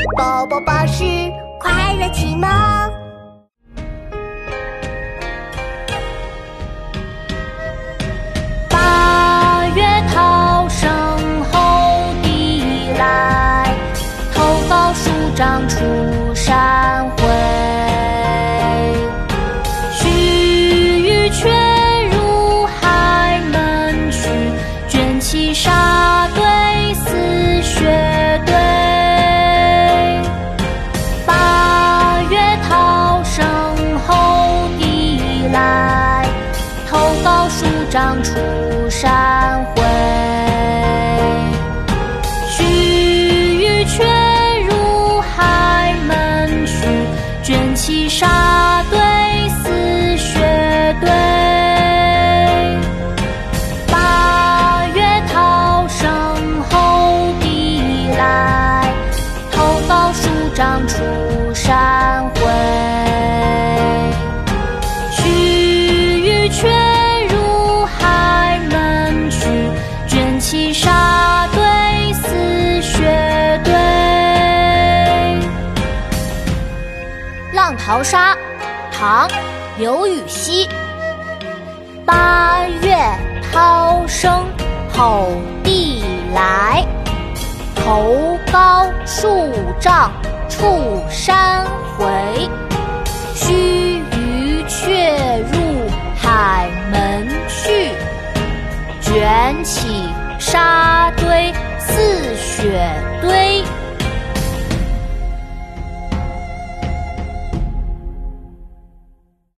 宝宝巴士快乐启蒙。 八月涛声吼地来，头高树长出山回。须臾却入海门去，卷起沙堆似雪堆。八月涛声吼地来，头高树长出山回。须臾却入海门去，卷起沙堆似雪堆。八月涛声吼地来，头高树长出山回。须臾却入海门去，卷起沙堆似雪堆。浪淘沙，唐·刘禹锡。八月涛声吼地来，头高树长出山回。须臾却入海门去，卷起沙堆似雪堆。